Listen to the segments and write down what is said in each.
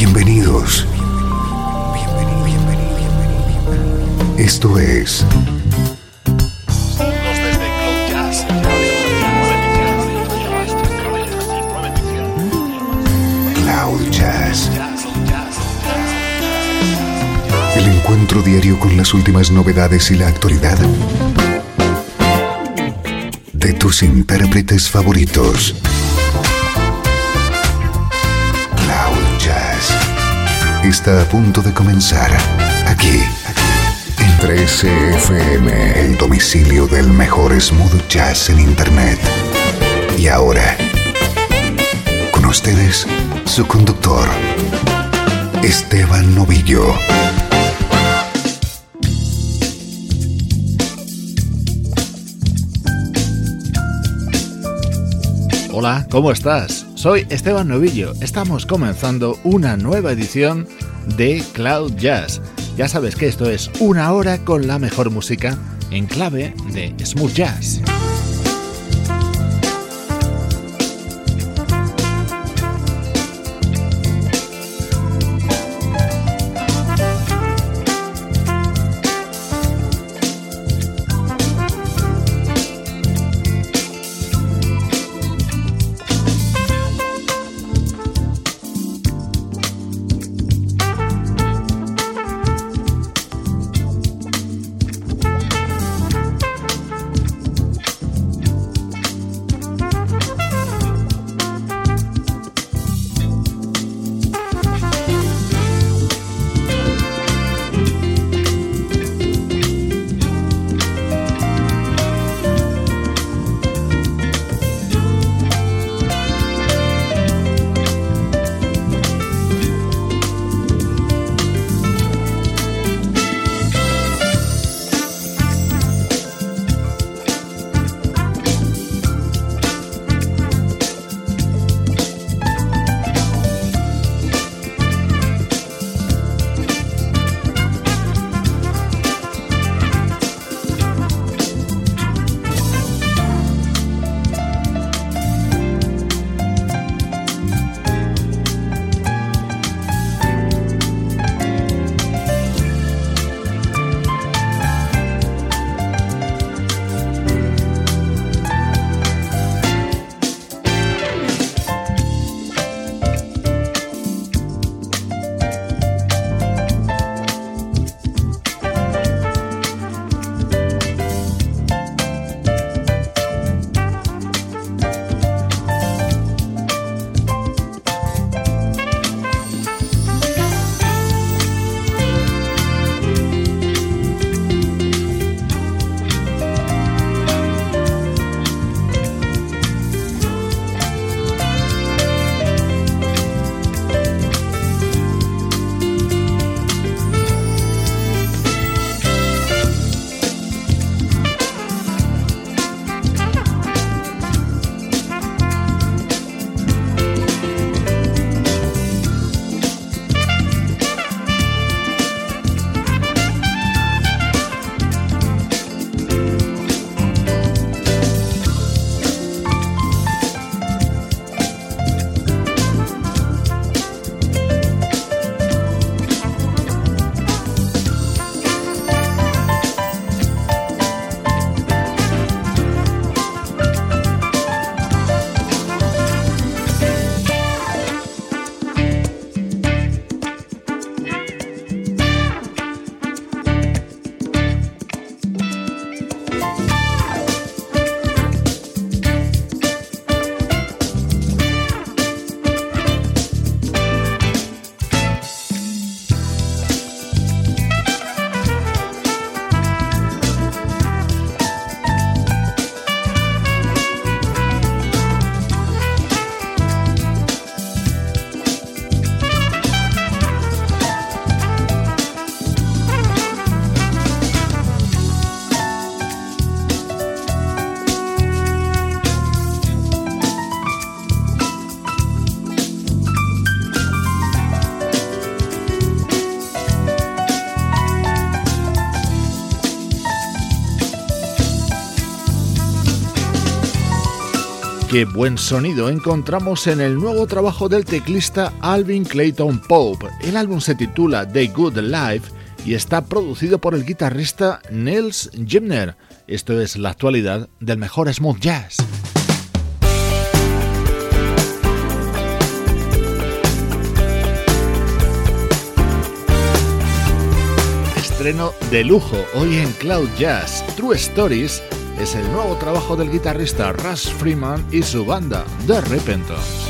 Bienvenidos. Esto es Cloud Jazz. El encuentro diario con las últimas novedades y la actualidad de tus intérpretes favoritos. Cloud Jazz está a punto de comenzar aquí en 13FM, el domicilio del mejor smooth jazz en internet. Y ahora, con ustedes, su conductor, Esteban Novillo. Hola, ¿cómo estás? Soy Esteban Novillo. Estamos comenzando una nueva edición de Cloud Jazz. Ya sabes que esto es una hora con la mejor música en clave de smooth jazz. Qué buen sonido encontramos en el nuevo trabajo del teclista Alvin Clayton Pope. El álbum se titula The Good Life y está producido por el guitarrista Nils Gimner. Esto es la actualidad del mejor smooth jazz. Estreno de lujo hoy en Cloud Jazz. True Stories es el nuevo trabajo del guitarrista Russ Freeman y su banda The Repentance.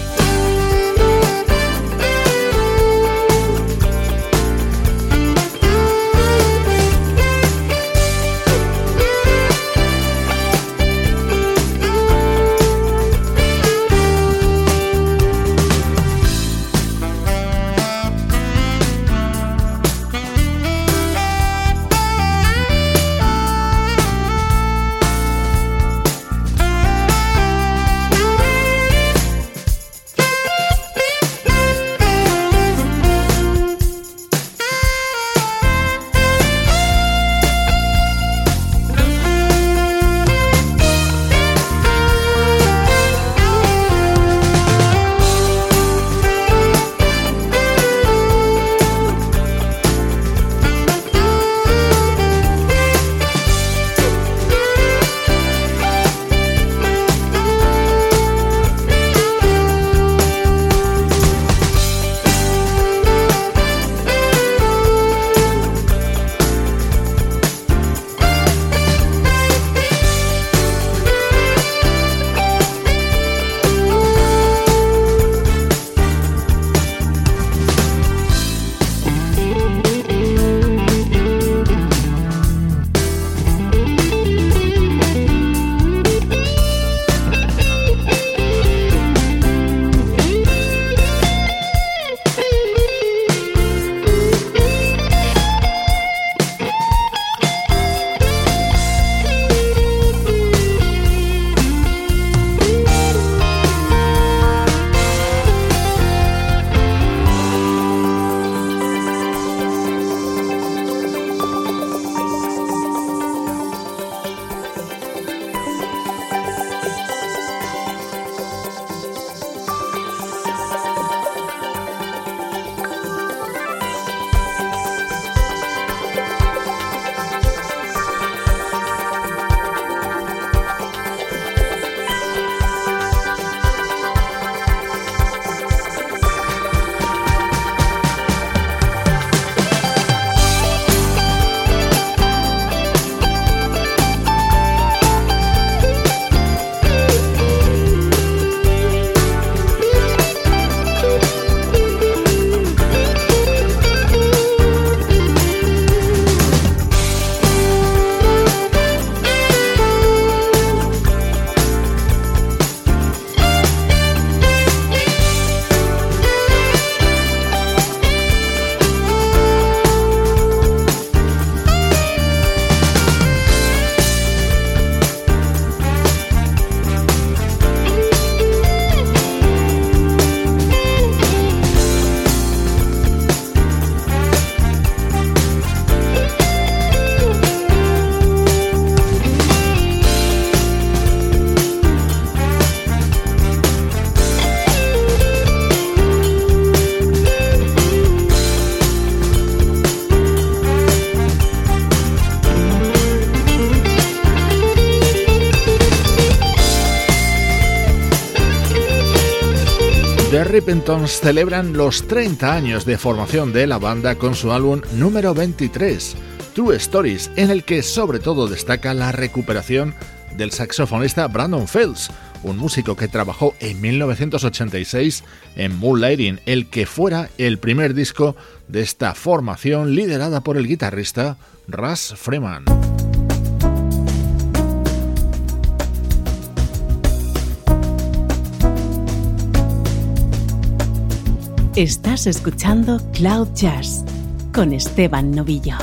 The Repentance celebran los 30 años de formación de la banda con su álbum número 23, True Stories, en el que sobre todo destaca la recuperación del saxofonista Brandon Fields, un músico que trabajó en 1986 en Moonlighting, el que fuera el primer disco de esta formación liderada por el guitarrista Russ Freeman. Estás escuchando Cloud Jazz con Esteban Novillo.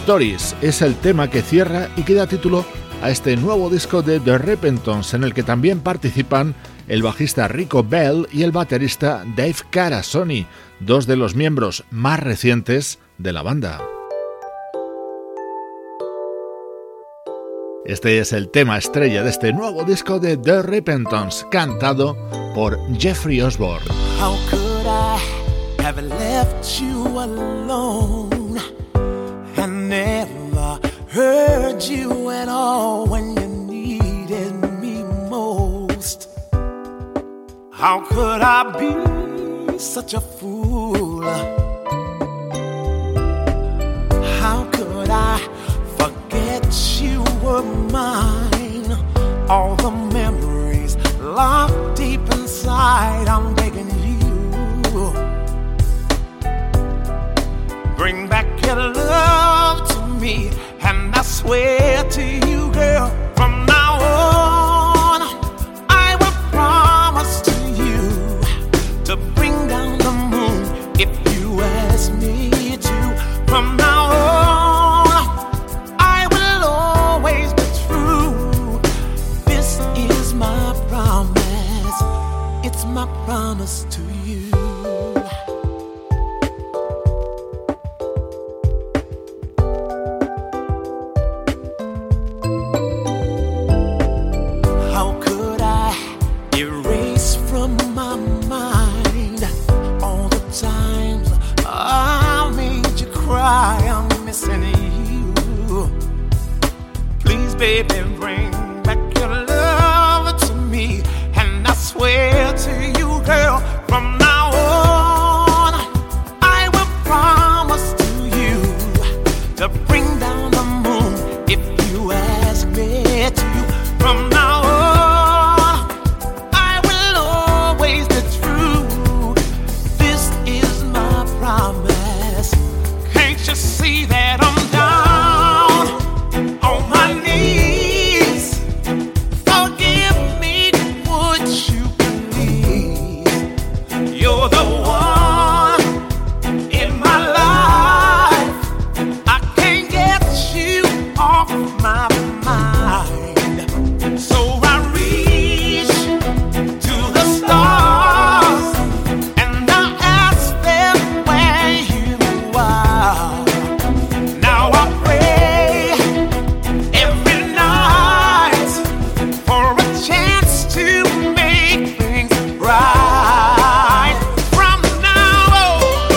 Stories es el tema que cierra y que da título a este nuevo disco de The Repentance, en el que también participan el bajista Rico Bell y el baterista Dave Carasoni, dos de los miembros más recientes de la banda. Este es el tema estrella de este nuevo disco de The Repentance, cantado por Jeffrey Osborne. How could I have left you alone and never heard you at all when you needed me most? How could I be such a fool? How could I forget you were mine? All the memories locked deep inside, I'm begging you, bring back your love to me. And I swear to you, girl, from now on, I will promise to you to bring down the moon if you ask me to. From now on, I will always be true. This is my promise. It's my promise to you. I'm missing you. Please, baby, bring back your love to me. And I swear to you, girl, from now on, I will promise to you to bring down the moon if you ask me to. From now on, I will always be true. This is my promise. Can't you see that I'm down on my knees? Forgive me, would you please? You're the one in my life. I can't get you off my mind. So I reach to the stars and I ask them where you are. Now I pray every night for a chance to make things right. From now on,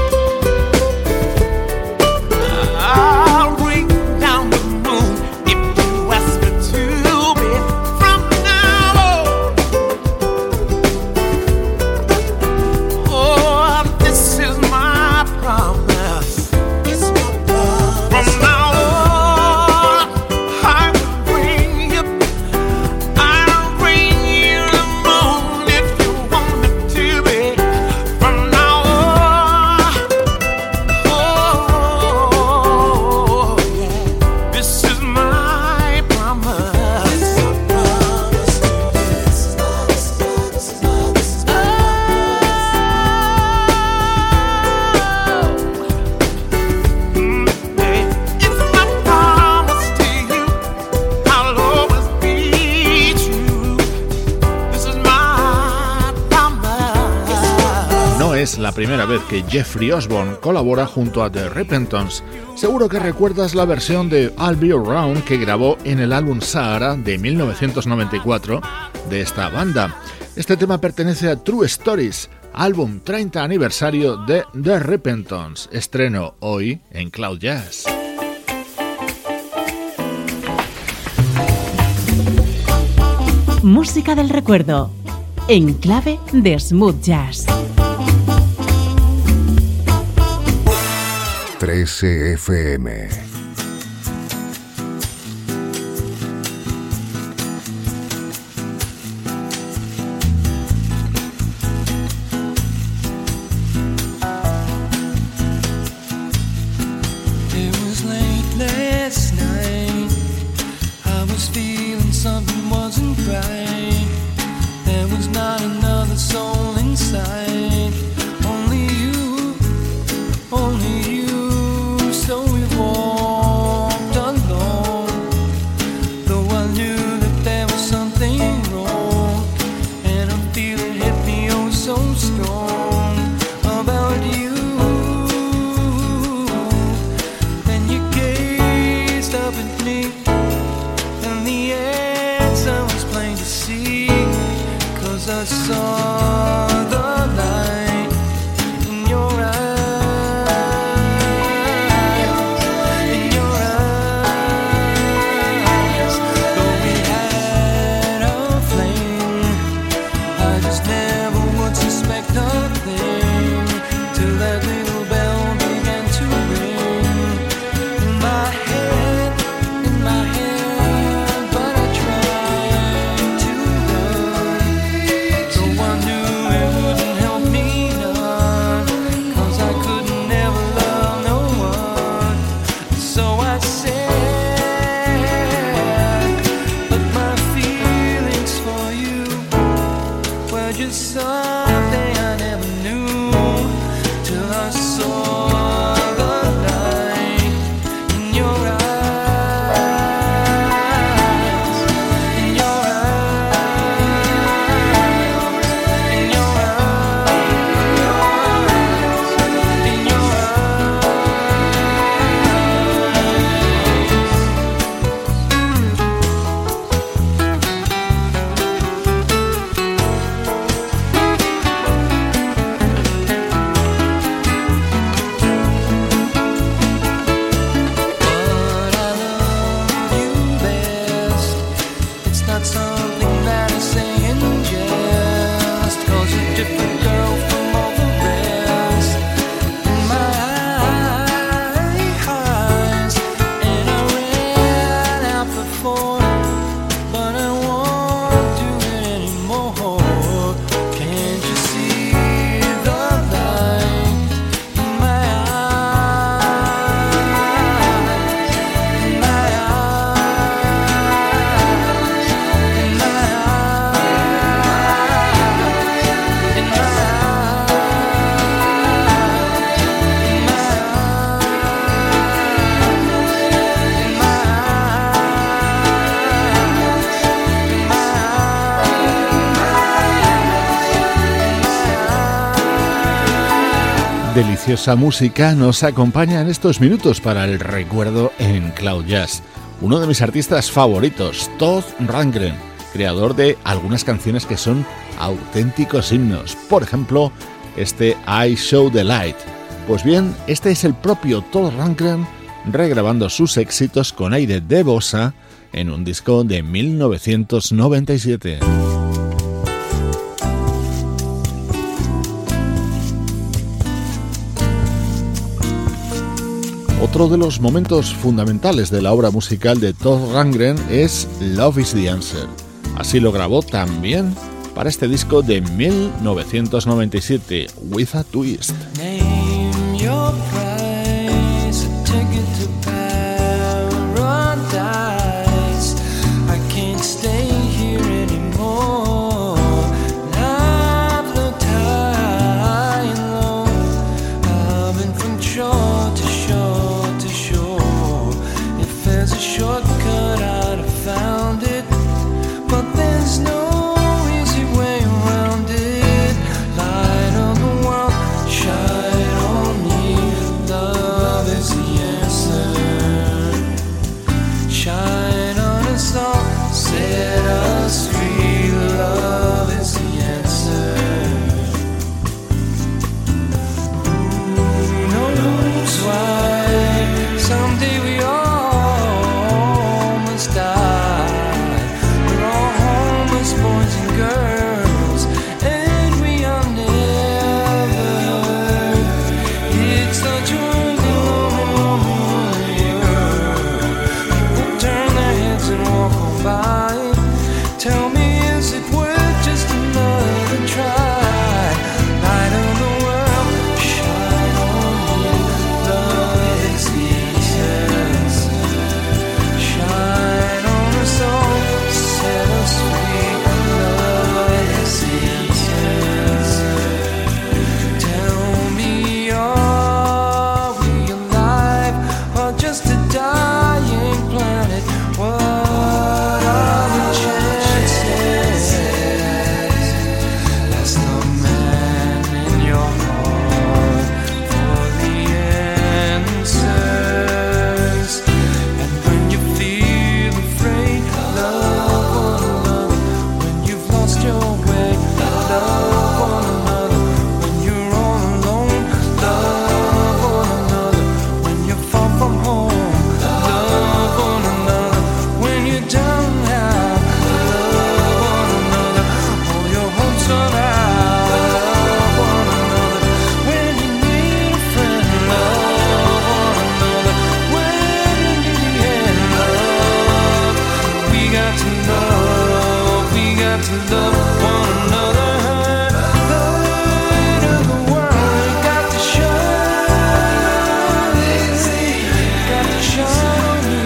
I'll bring down the moon if you ask me to be. From now on, oh, this is my promise. From now on, I'll bring you the moon if you want me to be. From now on, oh, yeah, this is my promise. It's my promise to you. I'll always be true. This is my promise. No es la primera vez que Jeffrey Osborne colabora junto a The Repentance. Seguro que recuerdas la versión de I'll Be Around que grabó en el álbum Sahara de 1994 de esta banda. Este tema pertenece a True Stories, álbum 30 aniversario de The Repentance, estreno hoy en Cloud Jazz. Música del recuerdo, en clave de smooth jazz. 13 FM. It was late last night. I was feeling something wasn't right. There was not another soul inside. Only you, so we walked deliciosa música nos acompaña en estos minutos para el recuerdo en Cloud Jazz. Uno de mis artistas favoritos, Todd Rundgren, creador de algunas canciones que son auténticos himnos. Por ejemplo, este I Show the Light. Pues bien, este es el propio Todd Rundgren regrabando sus éxitos con aire de bossa en un disco de 1997. Otro de los momentos fundamentales de la obra musical de Todd Rundgren es Love is the Answer. Así lo grabó también para este disco de 1997, With a Twist. Name your price, a ticket to paradise. I can't stay here anymore. I've looked high and low. I've been from shore to shore to shore. If there's a shortcut, I'd have found it. But there's no easy way around it. Light of the world, shine on me. Love is the answer. Shine on us all, set us free. Love is the answer. Who knows why? Someday we all must die. We're all homeless boys and girls, and we are never. It's such a lonely earth. People turn their heads and walk on by. Tell me, is it worth just another try? Light of the world, shine on me. Love is the answer. Shine on us all, set us free. Love is the answer. Tell me, are we alive or just a dying planet? What are the chances? Ask the man in your heart for the answers. And when you feel afraid, love one another. When you've lost your way, love one another. When you're all alone, love one another. When you're far from home, love one another. When you're down and out, love one another. All your hopes run out, love one another. When you need a friend, love one another. When you need the end, love. We got to love one another. The light of the world got to shine, got to shine on me.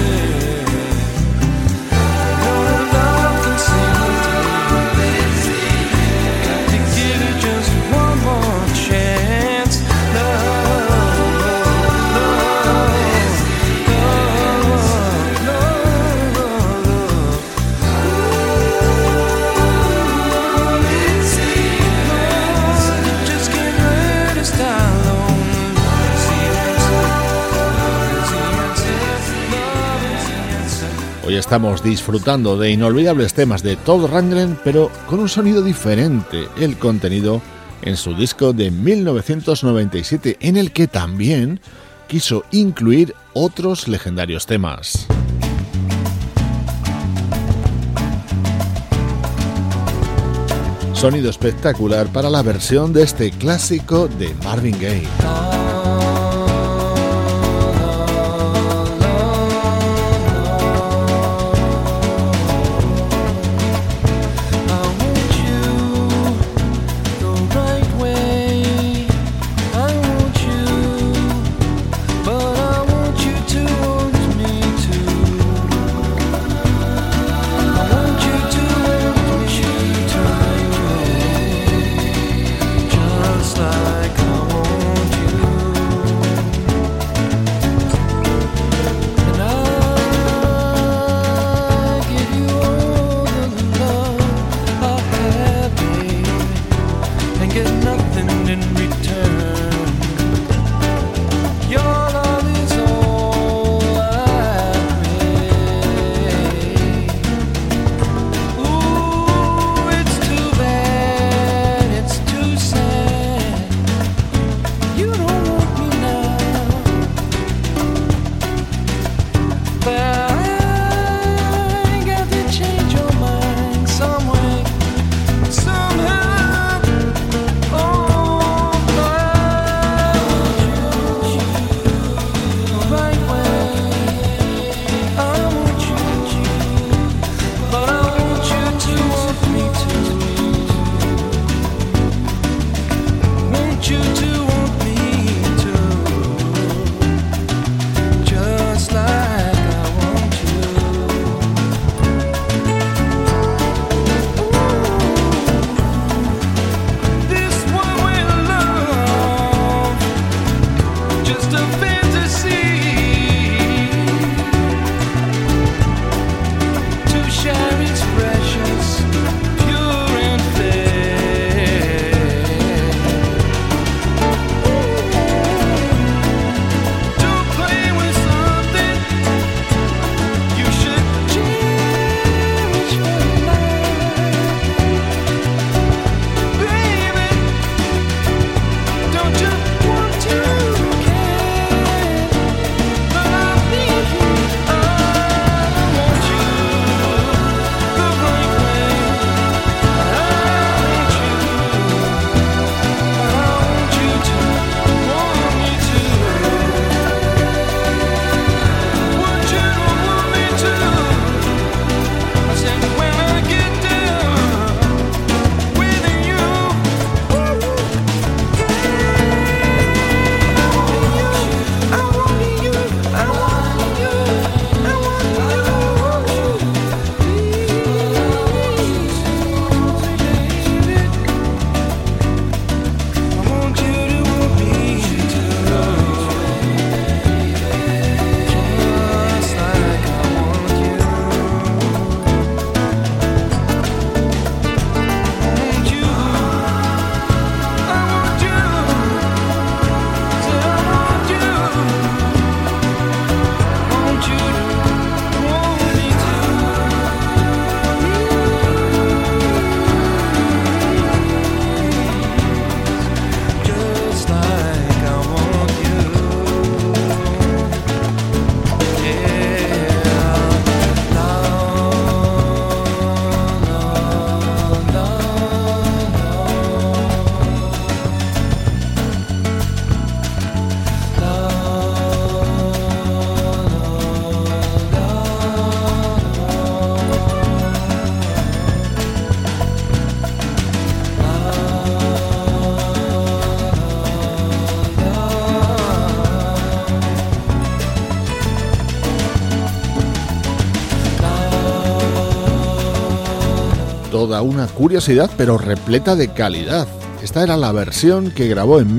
No love can save the day. Got to give it just one more chance. Love, just get rid of style alone. Hoy estamos disfrutando de inolvidables temas de Todd Rundgren, pero con un sonido diferente, el contenido en su disco de 1997, en el que también quiso incluir otros legendarios temas. Sonido espectacular para la versión de este clásico de Marvin Gaye. Like I want get nothing in return. Toda una curiosidad, pero repleta de calidad. Esta era la versión que grabó en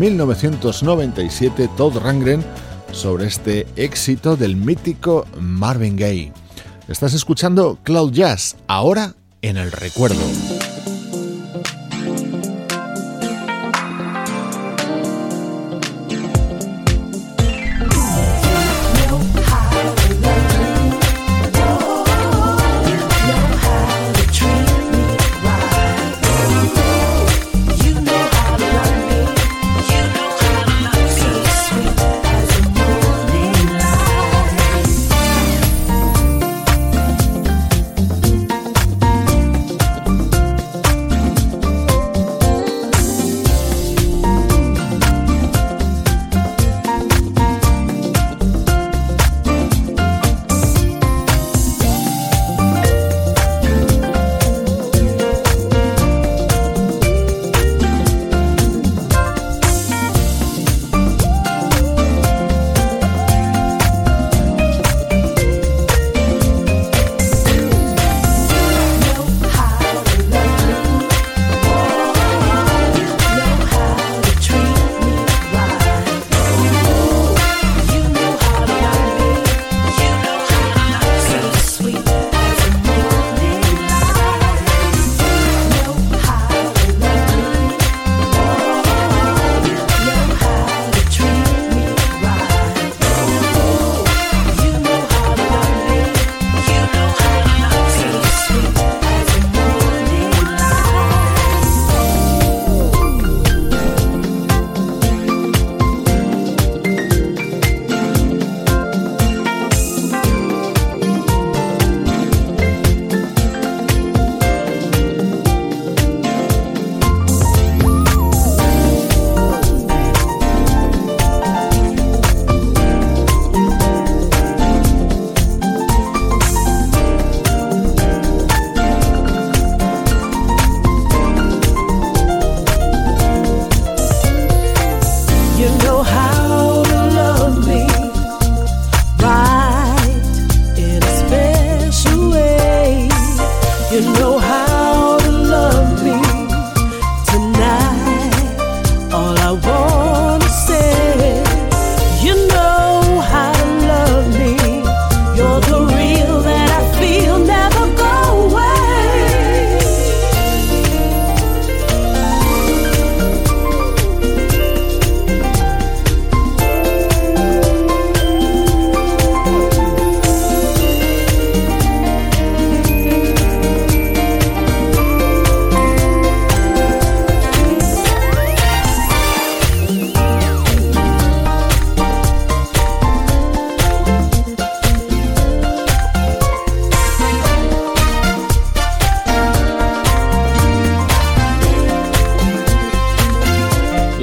1997 Todd Rundgren sobre este éxito del mítico Marvin Gaye. Estás escuchando Cloud Jazz, ahora en el recuerdo.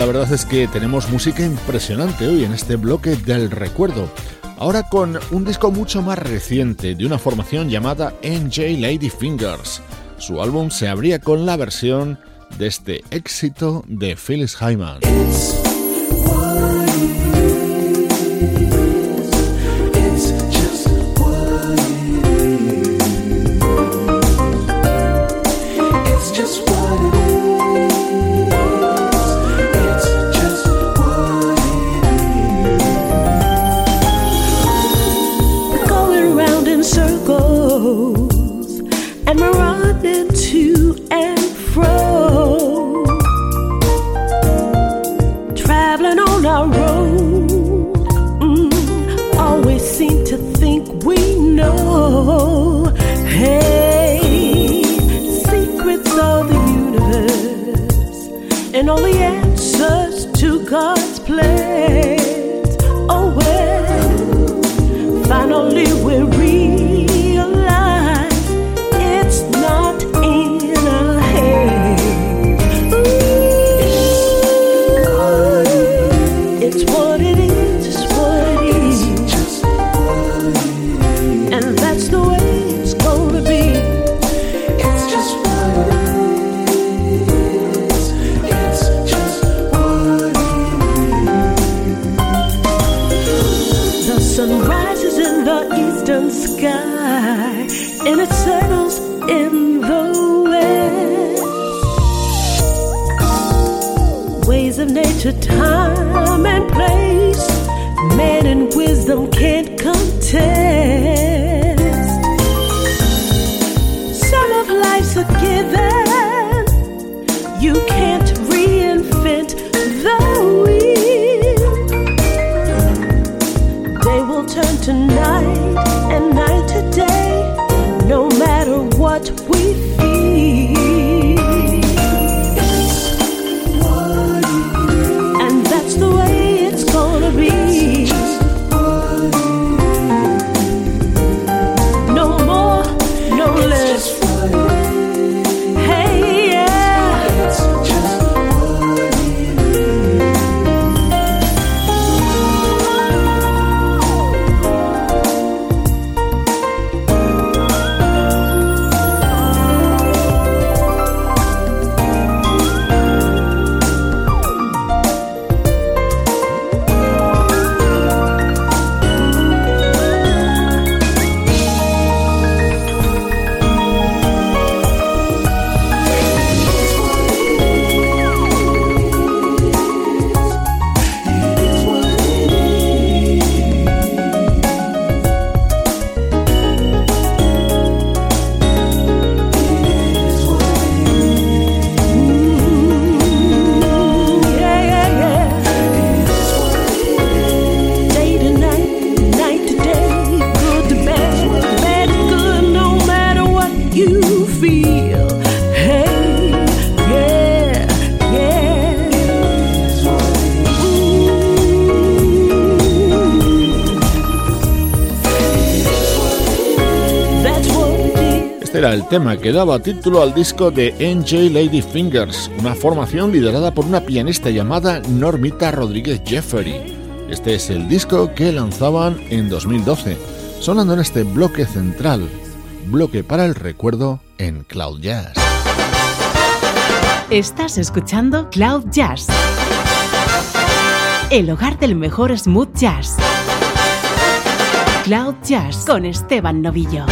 la verdad es que tenemos música impresionante hoy en este bloque del recuerdo. Ahora con un disco mucho más reciente de una formación llamada NJ Ladyfingers. Su álbum se abría con la versión de este éxito de Phyllis Hyman. And we're running to and fro, traveling on our road. Always seem to think we know. Hey, secrets of the universe and all the answers to God's plans. Oh well, finally we realize it's not in our hands. It's what it is, it's what it is, and that's the way it's gonna be. It's just what it is, it's just what it is. The sun rises in the eastern sky and it settles in the west. Ways of nature, time and place, man and wisdom can't contest. Some of life's a given, you can't reinvent the wheel. Day will turn to night and night to day, no matter what we feel. And that's the way it's gonna be. No more, no less. Hey, yeah. Era el tema que daba título al disco de NJ Ladyfingers, una formación liderada por una pianista llamada Normita Rodríguez Jeffery. Este es el disco que lanzaban en 2012, sonando en este bloque central, bloque para el recuerdo en Cloud Jazz. Estás escuchando Cloud Jazz, el hogar del mejor smooth jazz. Cloud Jazz con Esteban Novillo.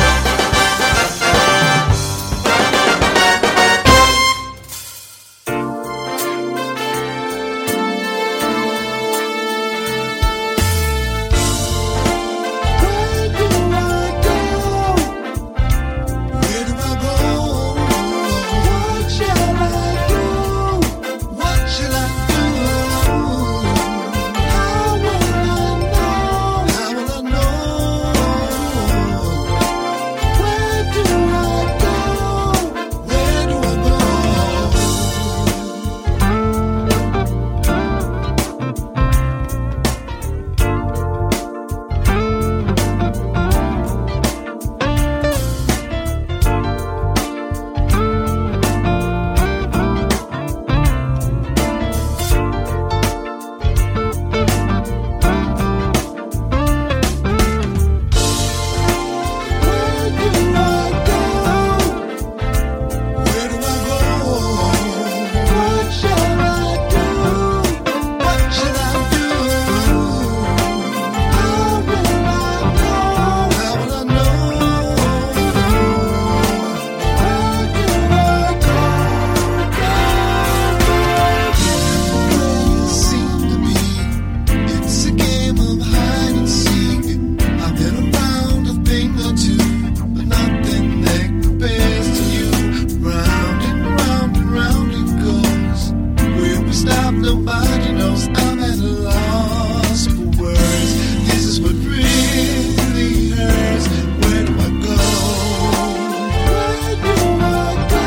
nobody knows I'm at a loss for words. This is what really hurts. Where do I go? Where do I go?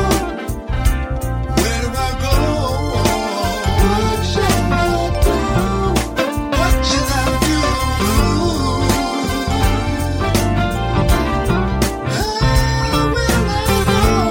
Where do I go? What shall I do? What shall I do? How will I know?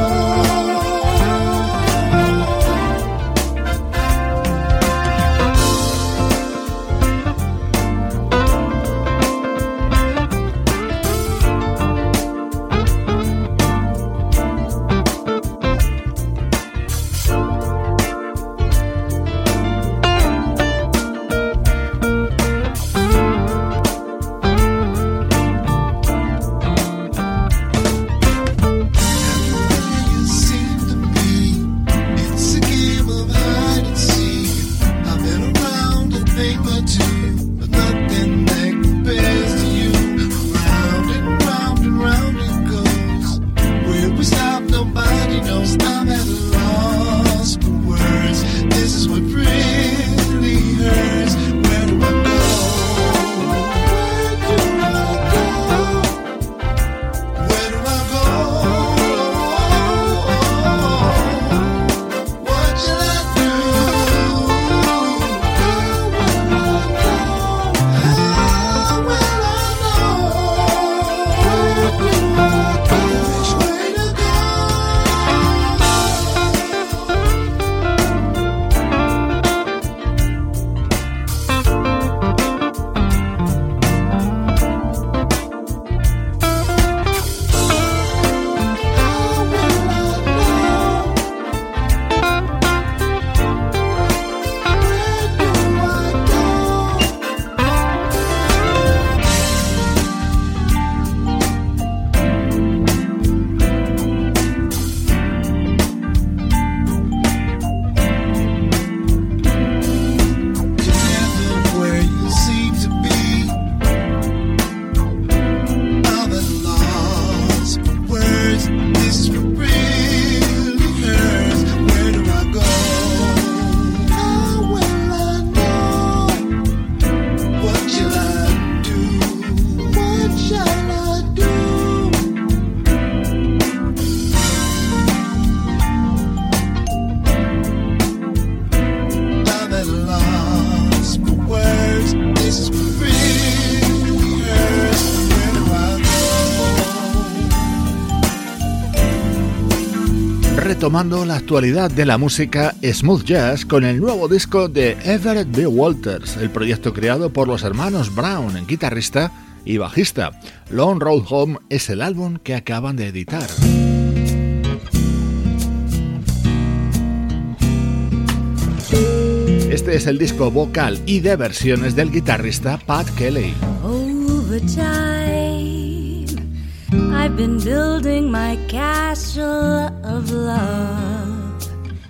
You seem to be. It's a game of hide and seek. I've been around a thing or two, but nothing that compares to you. Round and round and round it goes. Where we stop, nobody knows. I'm at a loss for words. This is what really hurts. Where do I go? Where do I go? Where do I go? What shall I do? How will I know? Where do I go? Which way to go? How will I know? Where do I go? Never where you seem to be. I'm at a loss for words. This is what really hurts. Where do I go? How will I know? What shall I do? What shall I do? I'm at a loss for words. This is what really hurts. Where do I go? Retomando la actualidad de la música smooth jazz con el nuevo disco de Everett B. Walters, el proyecto creado por los hermanos Brown, guitarrista y bajista. Long Road Home es el álbum que acaban de editar. Este es el disco vocal y de versiones del guitarrista Pat Kelly. Over time, I've been building my castle of love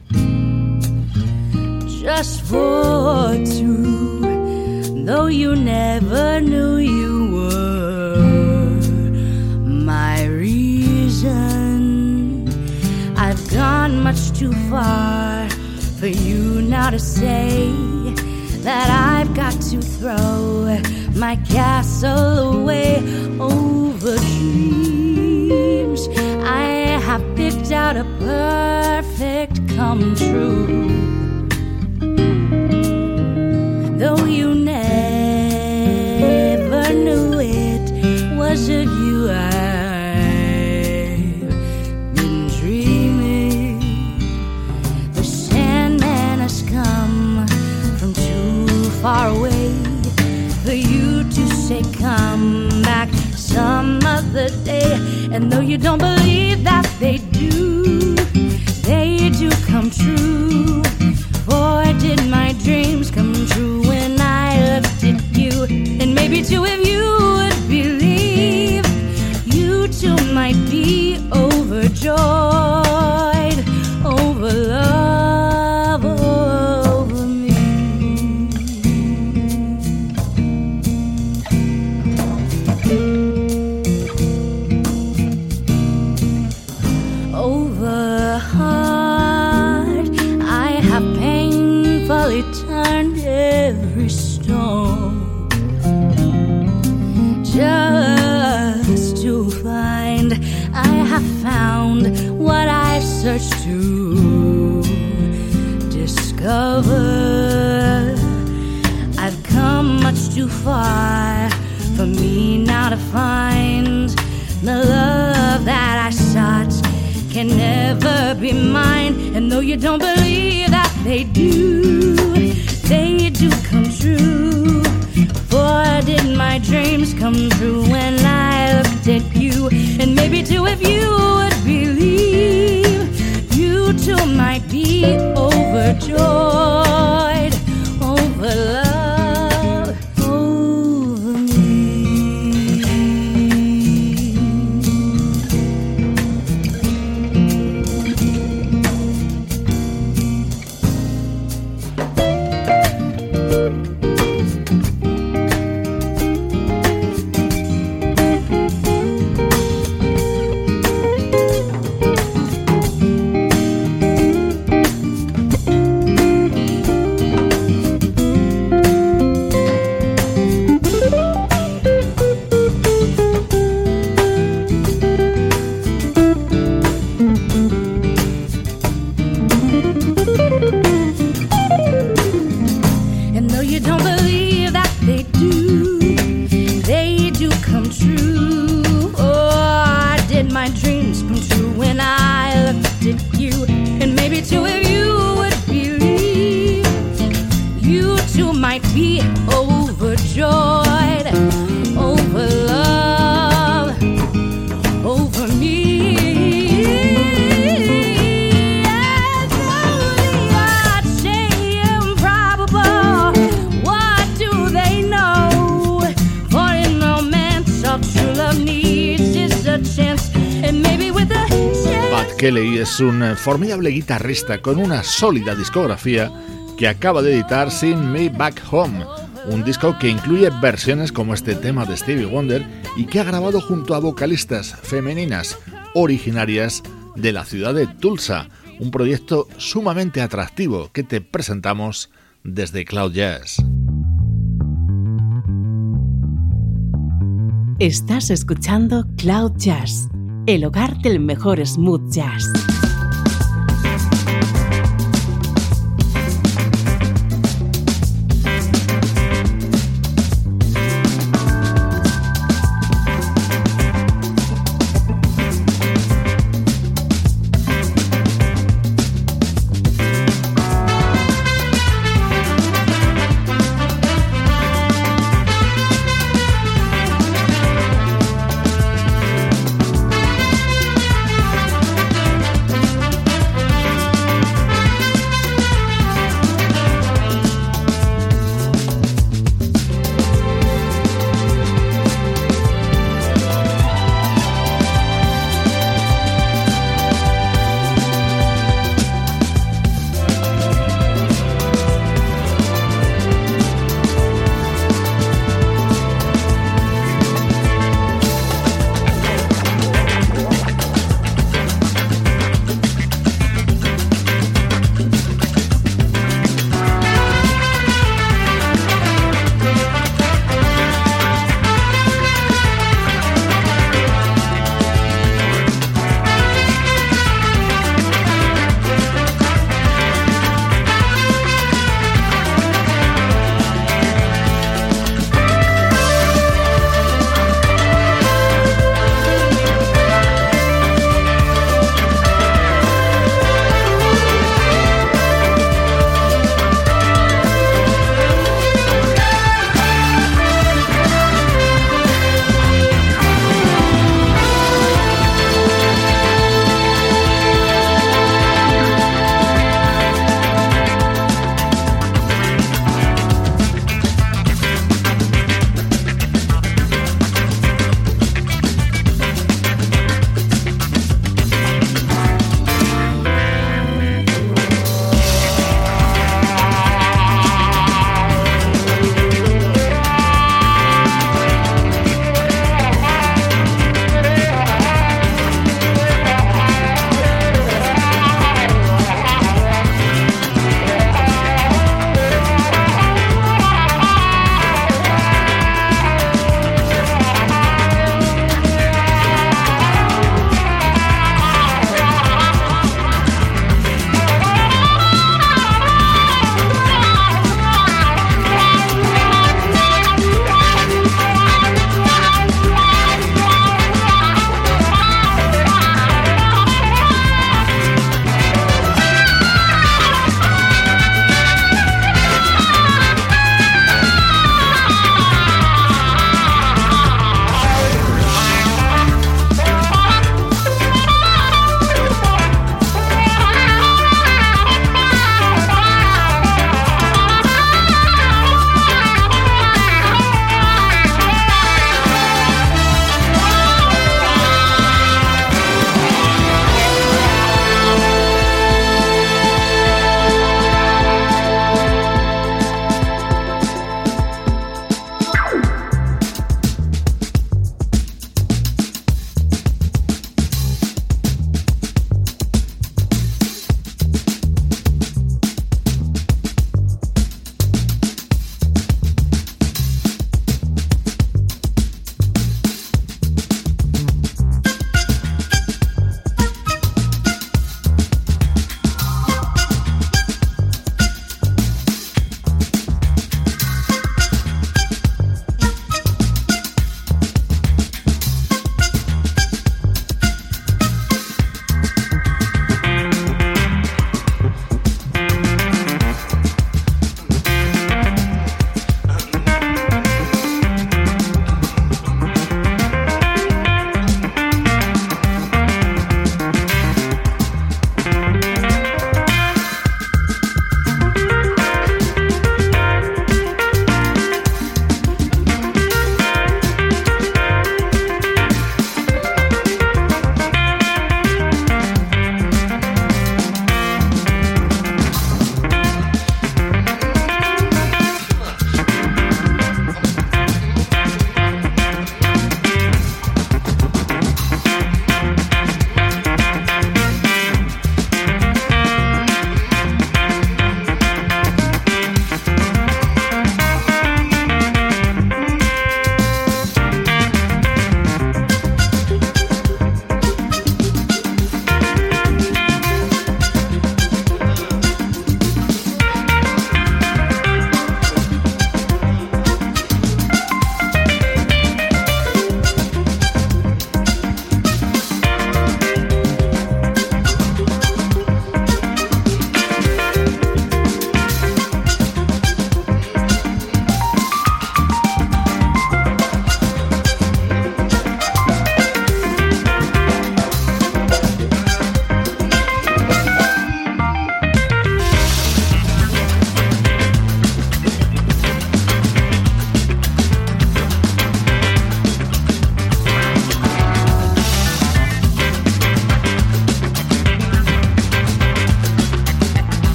just for two. Though you never knew you were my reason, I've gone much too far for you now to say that I've got to throw my castle away over dreams. I have picked out a perfect come true. Though you never knew it was of you I've been dreaming. The Sandman has come from too far away for you to say come back some other day. And though you don't believe that they do come true. For did my dreams come true when I looked at you? And maybe two of you would believe. You too might be overjoyed over love, over me. Over heart, turned every stone just to find I have found what I searched to discover. I've come much too far for me now to find the love that I sought can never be mine. And though you don't believe that they do come true. For did my dreams come true when I looked at you? And maybe too if you would believe, you too might be overjoyed over love, over me. Kelly es un formidable guitarrista con una sólida discografía que acaba de editar Sing Me Back Home, un disco que incluye versiones como este tema de Stevie Wonder y que ha grabado junto a vocalistas femeninas originarias de la ciudad de Tulsa, un proyecto sumamente atractivo que te presentamos desde Cloud Jazz. Estás escuchando Cloud Jazz, el hogar del mejor smooth jazz.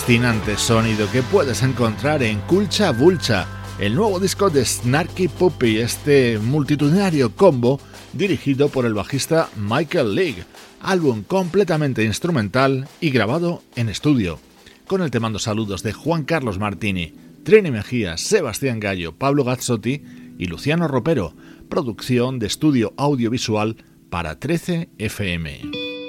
fascinante sonido que puedes encontrar en Culcha Vulcha, el nuevo disco de Snarky Puppy, este multitudinario combo dirigido por el bajista Michael League, álbum completamente instrumental y grabado en estudio, con el te mando saludos de Juan Carlos Martini, Trini Mejía, Sebastián Gallo, Pablo Gazzotti y Luciano Ropero, producción de estudio audiovisual para 13 FM.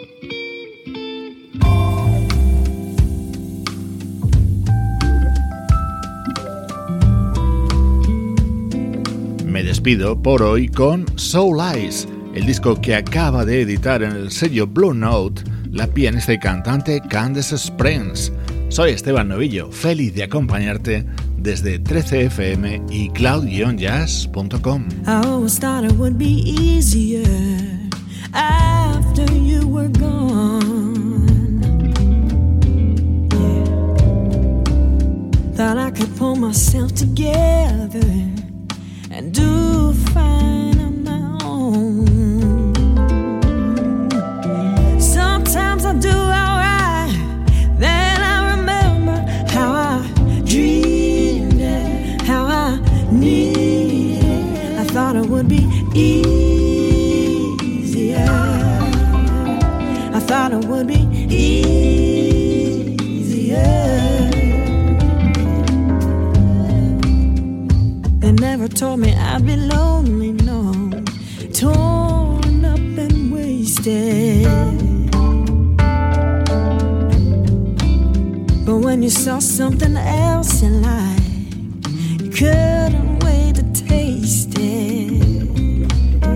Me despido por hoy con Soul Eyes, el disco que acaba de editar en el sello Blue Note la pianista y cantante Candace Springs. Soy Esteban Novillo, feliz de acompañarte desde 13fm y cloud-jazz.com. I always thought it would be easier after you were gone. Yeah. Thought I could pull myself together and do fine on my own. Sometimes I do alright, then I remember how I dreamed it, how I needed it. I thought it would be easier. I thought it would be easier. They never told me I'd be lonely, no, torn up and wasted. But when you saw something else in life, you couldn't wait to taste it.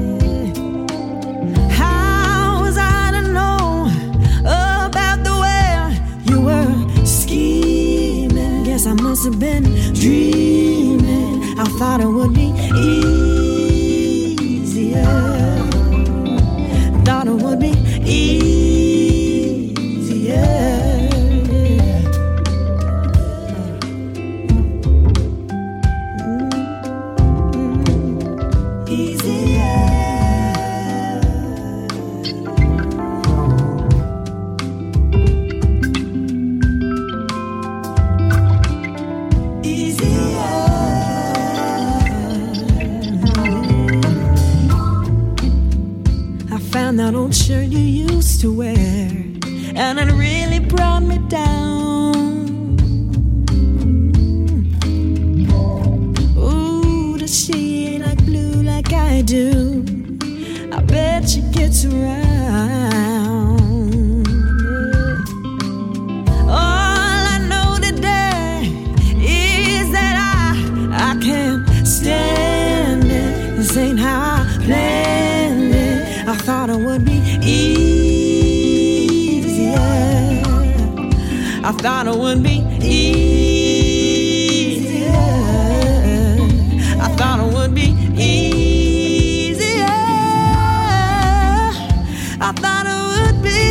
How was I to know about the way you were scheming? Guess I must have been dreaming. I thought it would be easier. Thought it would be easier. That old shirt you used to wear, and it really brought me down. Ooh, does she like blue like I do? I bet she gets around. All I know today is that I can't stand it. This ain't how I planned it. I thought it would be easier. I thought it would be easier. I thought it would be easier. I thought it would be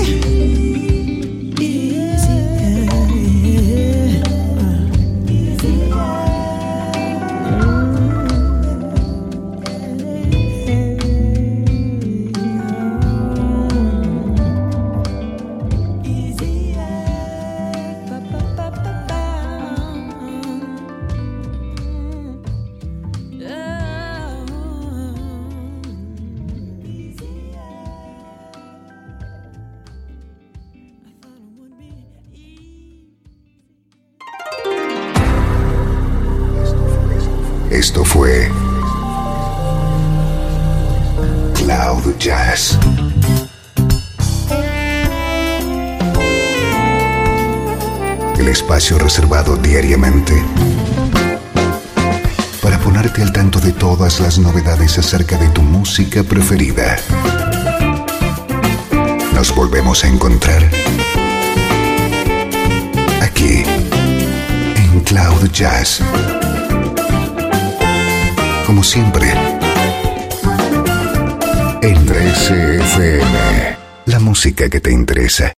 Esto fue Cloud Jazz. El espacio reservado diariamente para ponerte al tanto de todas las novedades acerca de tu música preferida. Nos volvemos a encontrar aquí en Cloud Jazz. Como siempre, en 13 FM, la música que te interesa.